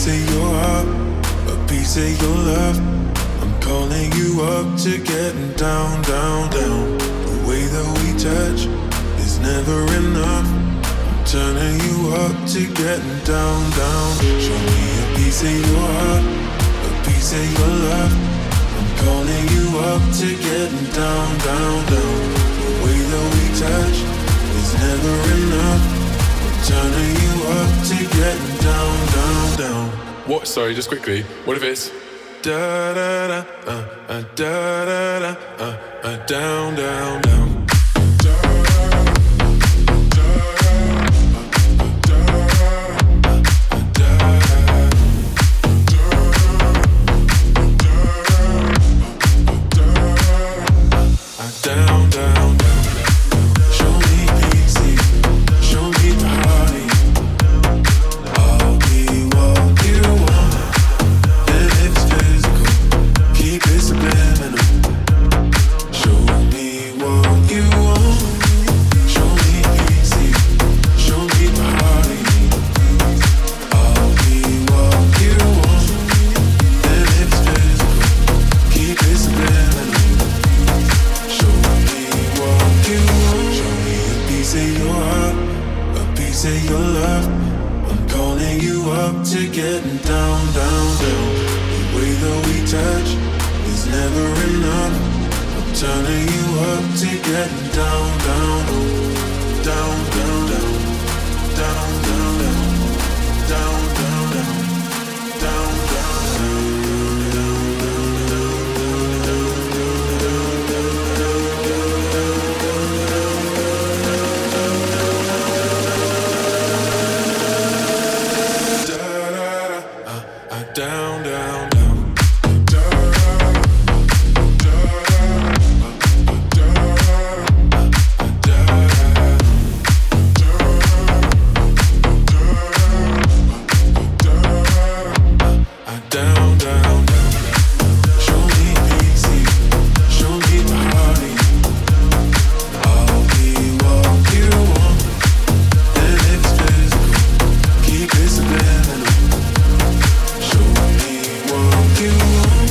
piece of your heart, a piece of your love. I'm calling you up to getting down, down, down. The way that we touch is never enough. I'm turning you up to getting down, down. Show me a piece of your heart, a piece of your love. I'm calling you up to getting down, down, down. The way that we touch is never enough. I'm turning you up to getting down, down, down. What? Sorry, just quickly. What if it's da da da da da da down, down, down. Down, down, down. Show me pieces, show me party. I'll be what you want, and it's physical. Keep it subliminal. Show me what you want. Show me pieces, show me party. I'll be what you want, and it's physical. Keep it subliminal. Show me what you want. Show me a piece of your heart, a piece of your love. I'm calling you up to getting down, down, down. The way that we touch is never enough. I'm turning you up to getting down, down, down, down, down, down, down, down, down, down, down, down, down, down, down. Down, down, down. Show me pieces, show me party. I'll be what you want, and it's physical. Keep it subliminal. Show me what you want.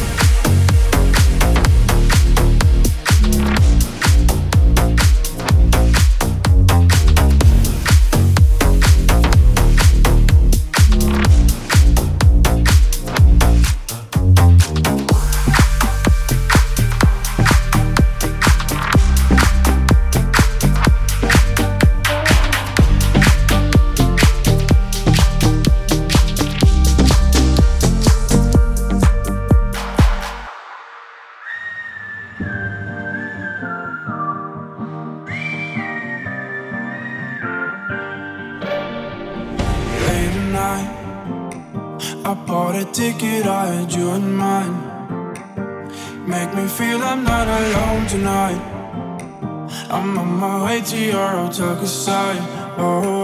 Late at night, I bought a ticket, I had you in mind. Make me feel I'm not alone tonight. I'm on my way to your hotel side. Oh,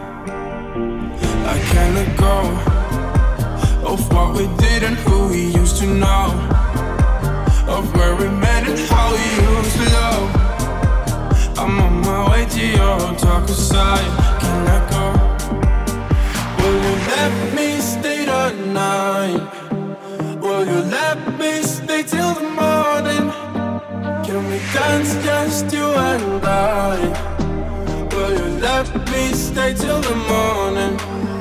I can't let go of what we did and who we used to know, of where we met and how we used to love. I'm on my way to your hotel side. Can't let go. Will you let me stay the night? Will you let me stay till the morning? Can we dance just you and I? Will you let me stay till the morning?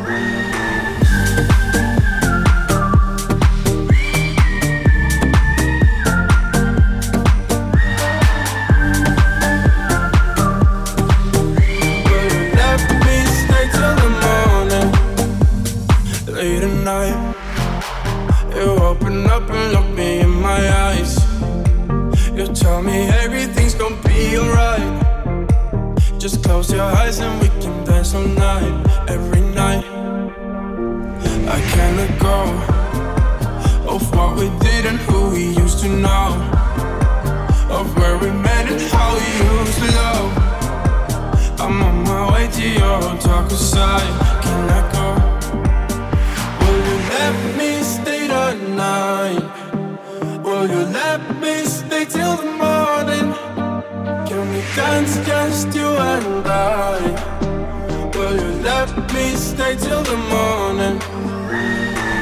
Will you let me stay till the morning? Late at night, you open up and look me in my eyes. You tell me everything's gonna be alright. Just close your eyes and we can dance all night, every night. I can't let go of what we did and who we used to know, of where we met and how we used to love. I'm on my way to your hotel side. Can't let go. Will you let me stay the night? Will you let me stay till the morning? Can we dance just you and I? Will you let me stay till the morning?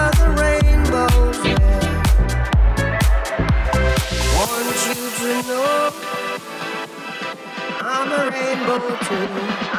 gather the rainbows, yeah. Want you to know I'm a rainbow too.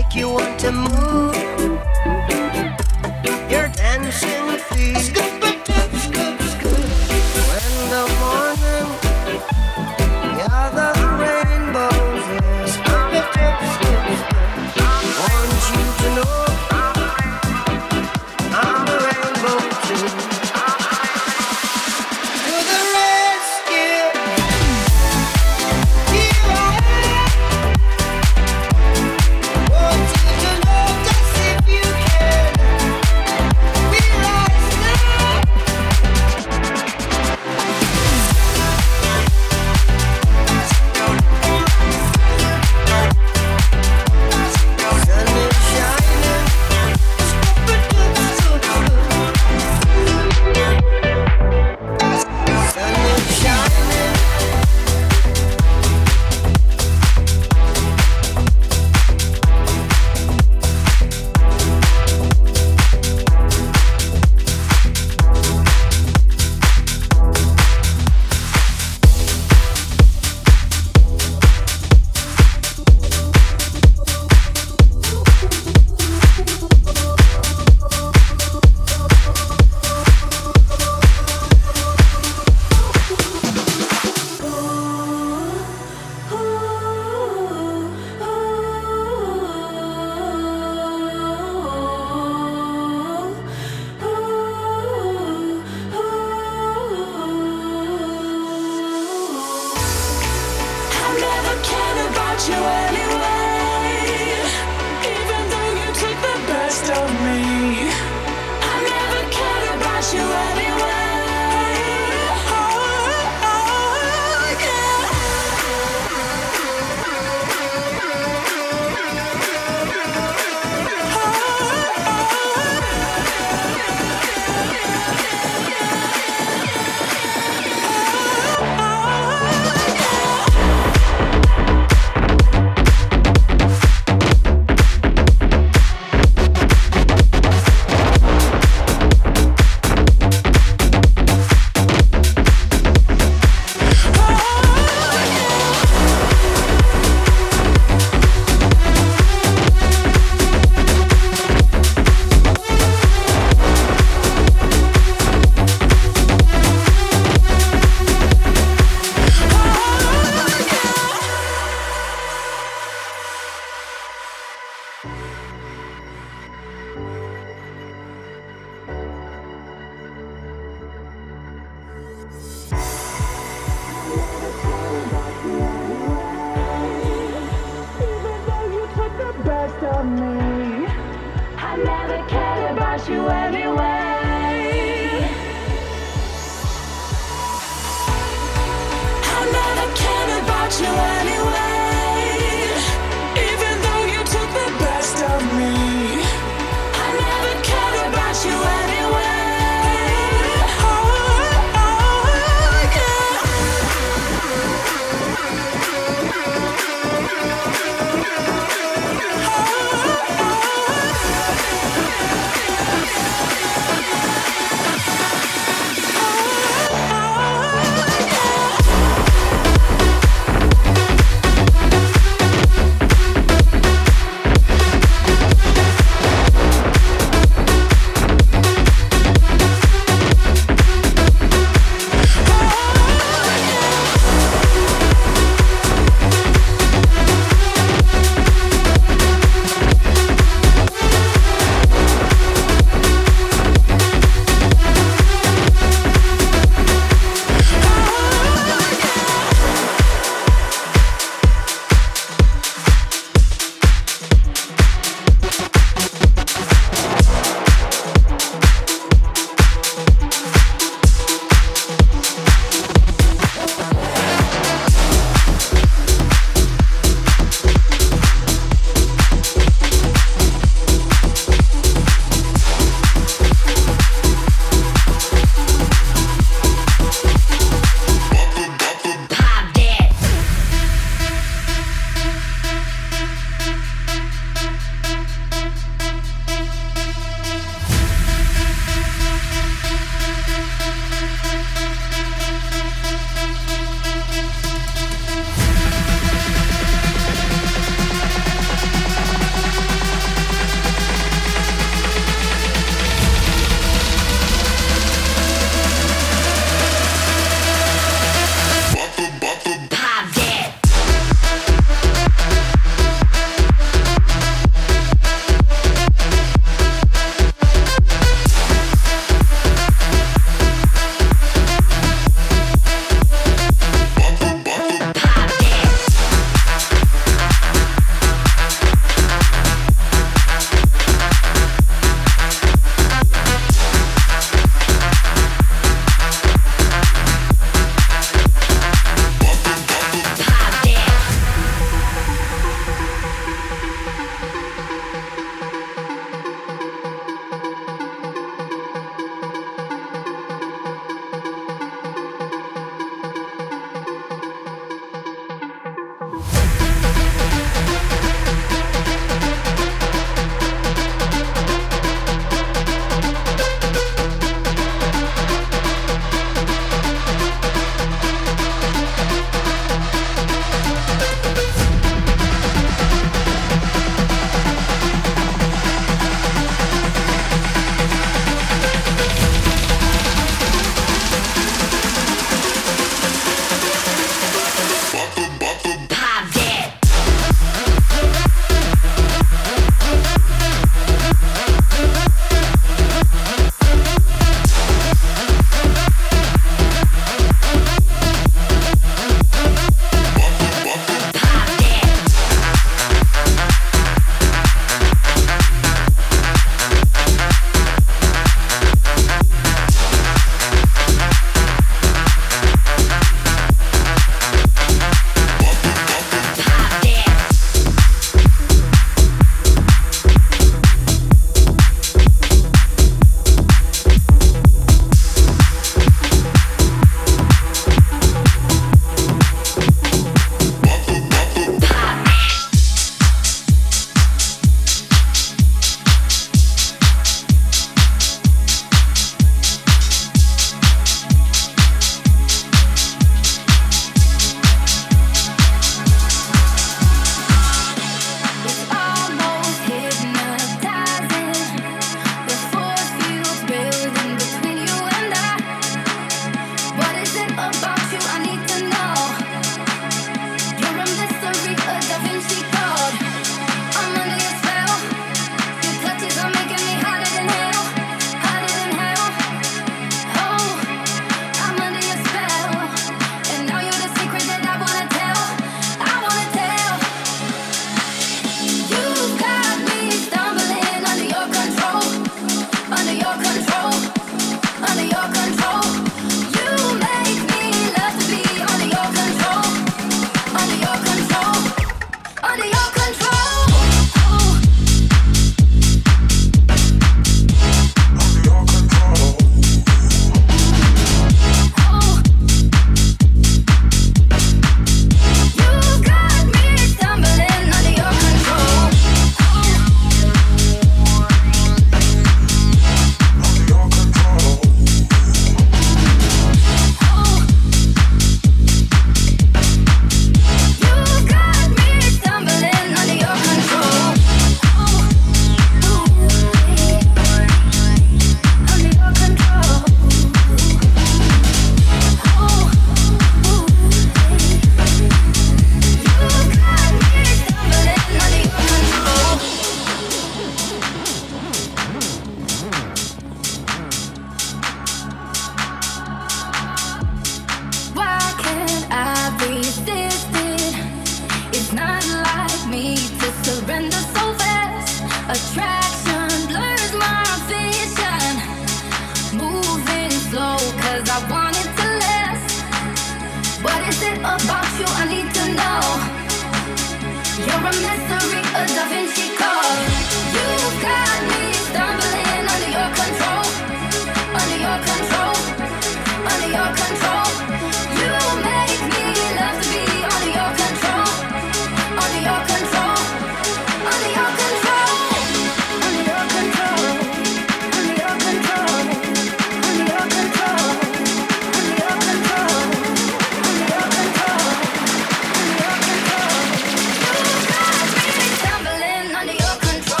Under your control.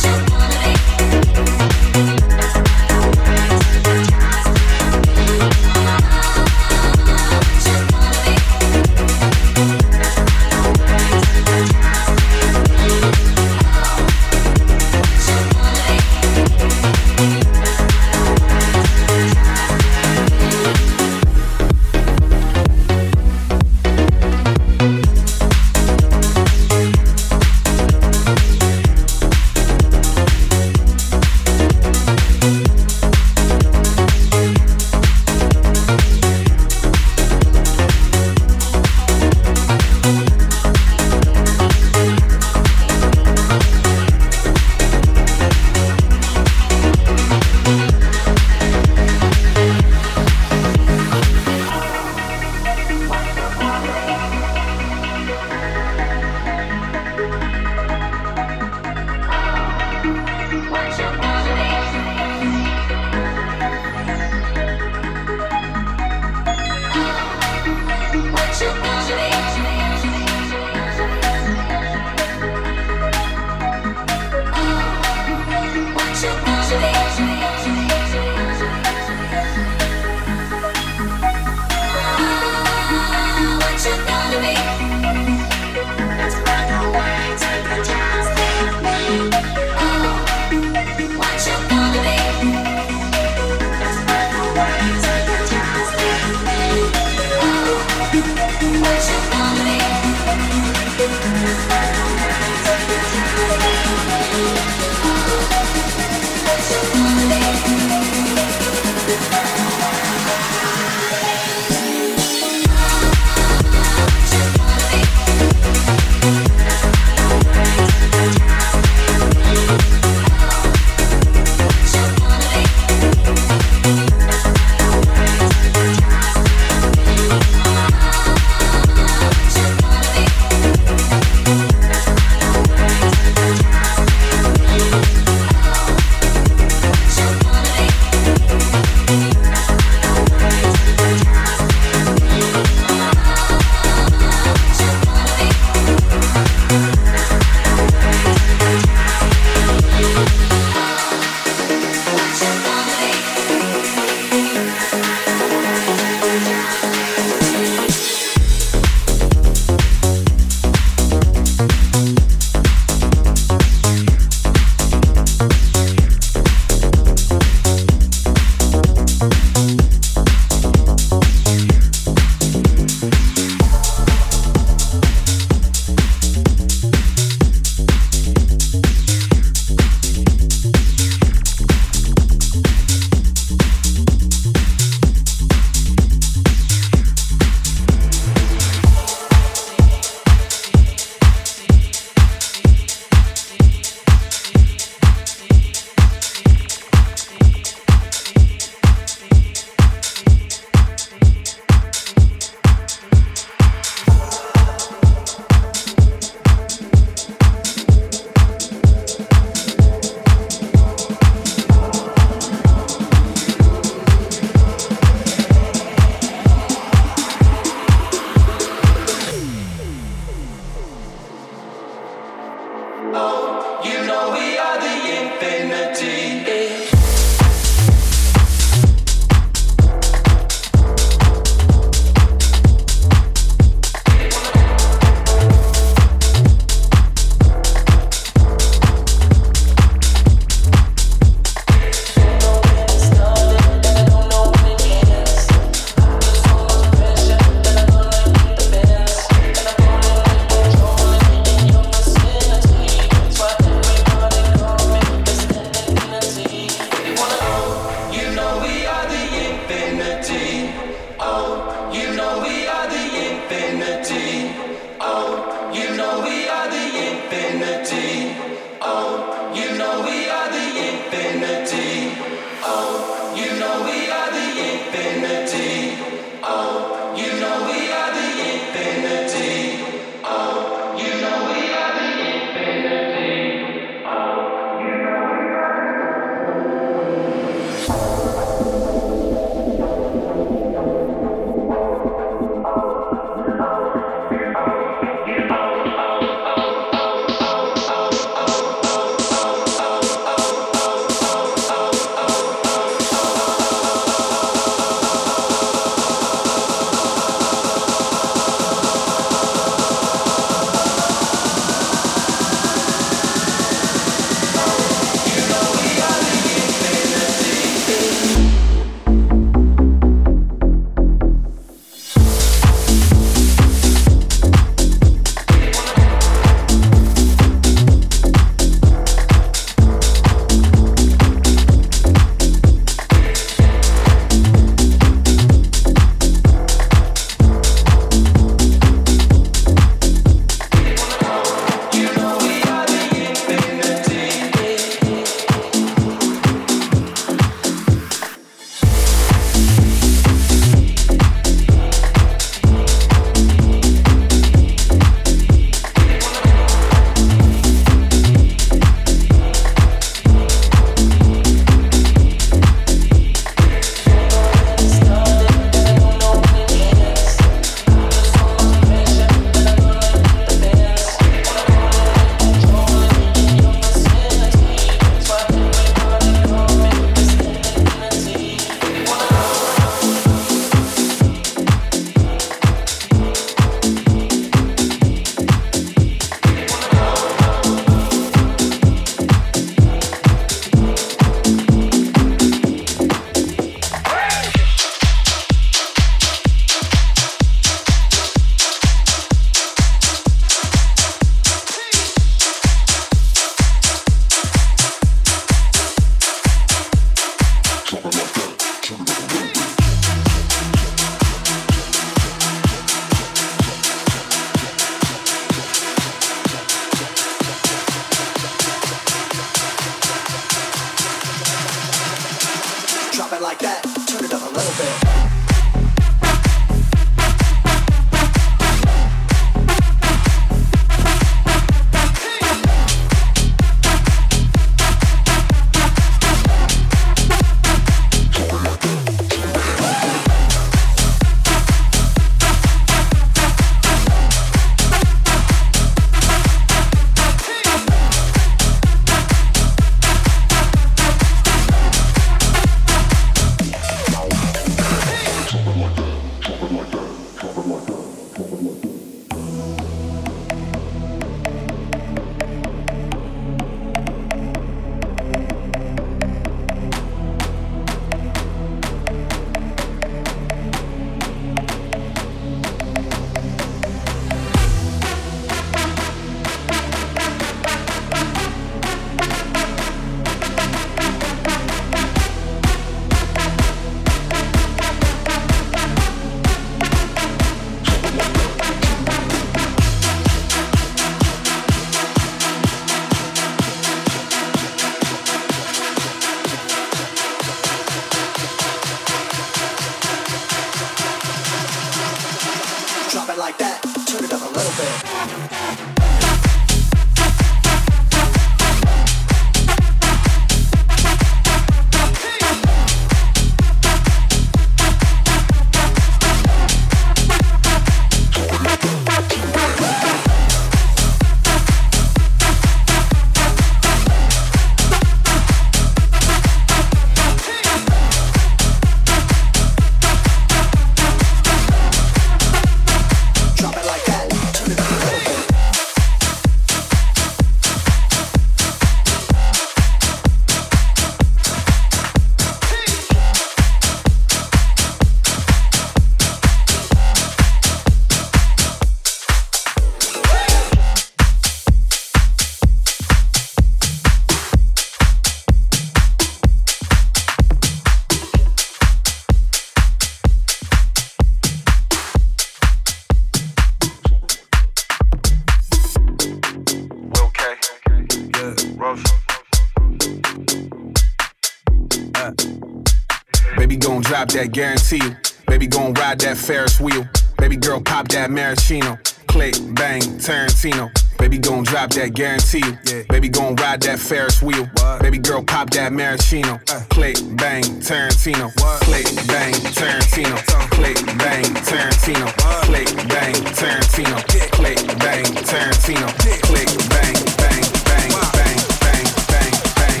Baby gon' drop that, guarantee you. Baby gon' ride that Ferris wheel. Baby girl pop that maraschino. Click, bang, Tarantino. Baby gon' drop that, guarantee you. Yeah. Baby gon' ride that Ferris wheel. What? Baby girl pop that maraschino. Click, bang, Tarantino. What? Click, bang, Tarantino. Click, bang, Tarantino. What? Click, bang, Tarantino. Click, bang, Tarantino. Click, bang, bang, bang, bang, bang, bang, bang,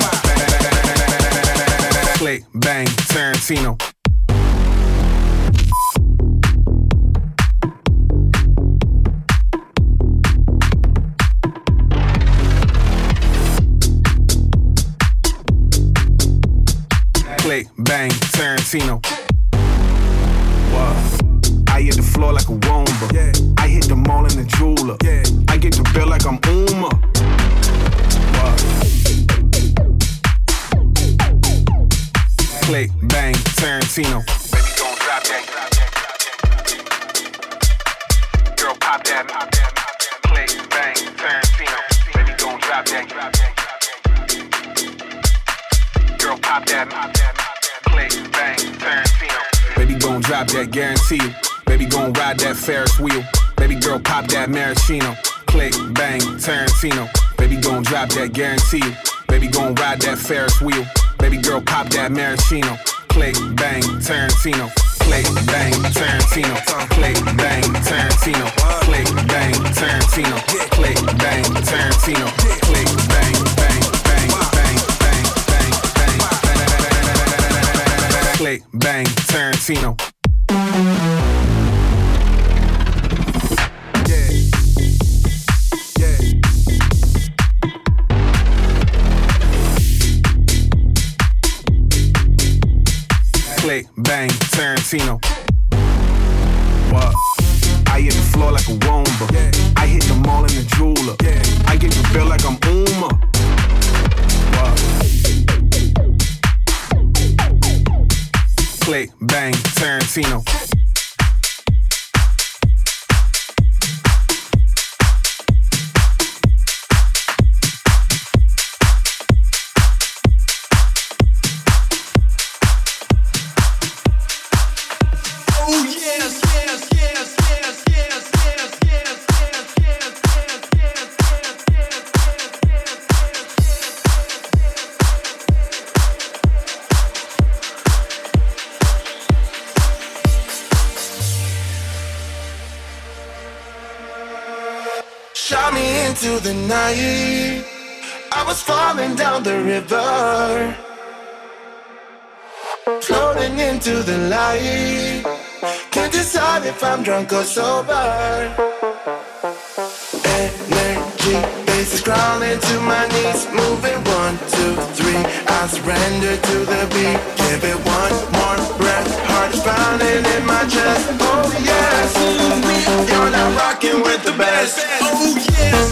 bang. Click, bang, Tarantino. Click, bang, Tarantino. Wow. I hit the floor like a Roomba. Yeah. I hit the mall in the jeweler. Yeah. I get the bill like I'm Uma. Wow. Click, bang, Tarantino. Baby, gon' drop that. Girl, pop that. Click, bang, Tarantino. Baby, gon' drop that. Girl, pop that. Click, bang, Tarantino. Baby gon' drop that, guarantee you. Baby gon' ride that Ferris wheel. Baby girl pop that maraschino. Click, bang, Tarantino. Baby gon' drop that, guarantee you. Baby gon' ride that Ferris wheel. Baby girl pop that maraschino. Click, bang, Tarantino. Click, bang, Tarantino. Click, bang, Tarantino. Click, bang, Tarantino. Click, bang, Tarantino. Click, bang, bang, bang, bang, bang, bang, bang, bang. Click, bang, Tarantino. Click, bang, Tarantino. What? I hit the floor like a Roomba. Yeah. I hit the mall in the jeweler. Yeah. I get the bill like I'm Uma. What? Click, bang, Tarantino. Shot me into the night. I was falling down the river, floating into the light. Can't decide if I'm drunk or sober. Energy, bass crawling to my knees, moving 1, 2, 3. I surrender to the beat. Give it one more breath. Heart is pounding in my chest. Oh yes, you're not rocking with the best. Oh yes.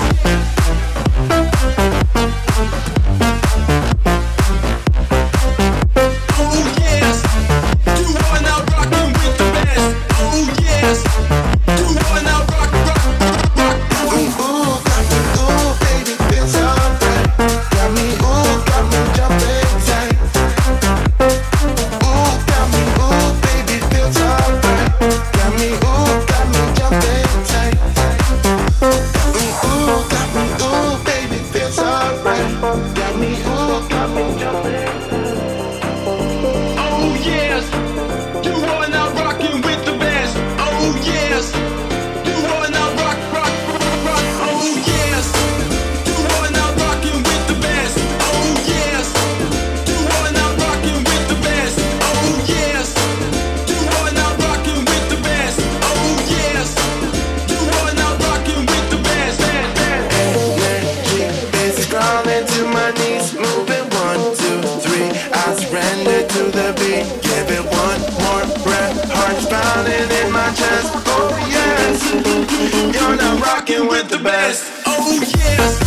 With the best. Oh yes.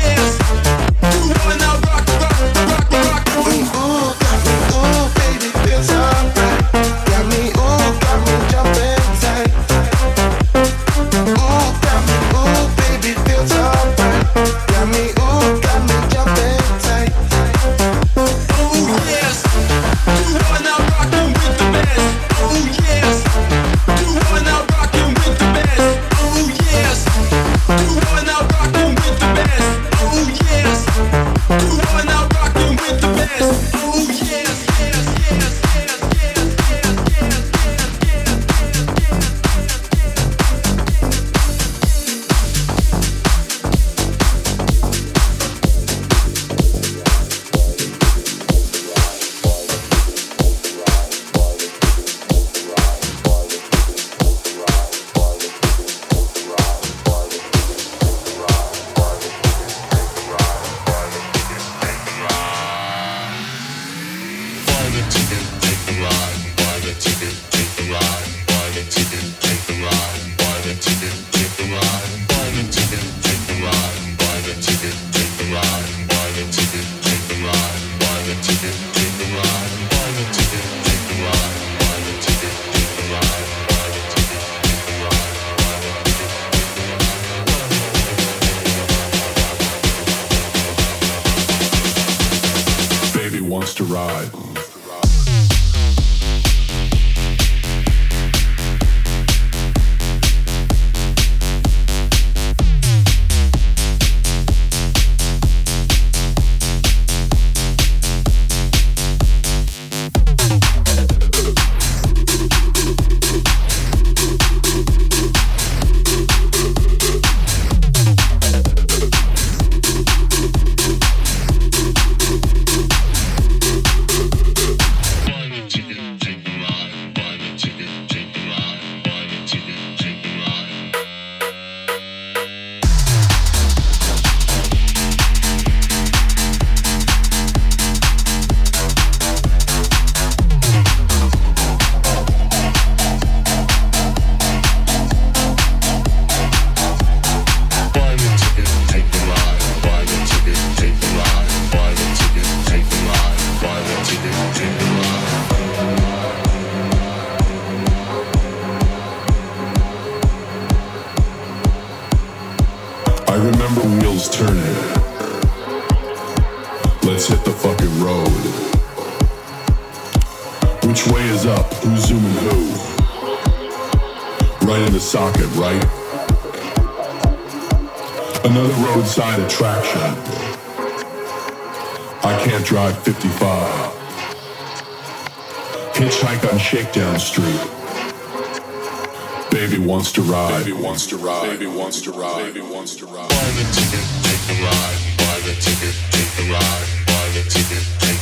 Baby, Wants to ride. I remember wheels turning. Let's hit the fucking road. Which way is up? Who's zooming who? Right in the socket, right? Another roadside attraction. I can't drive 55. Hitchhike on Shakedown Street. Baby wants to ride. Baby wants to ride. Baby wants to ride. Baby wants to ride. Buy the ticket, take the ride. Buy the ticket, take the ride. Buy the ticket, take